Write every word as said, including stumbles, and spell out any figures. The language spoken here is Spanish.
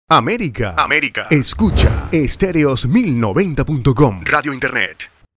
América. América. Escucha estéreos mil noventa punto com. Radio Internet.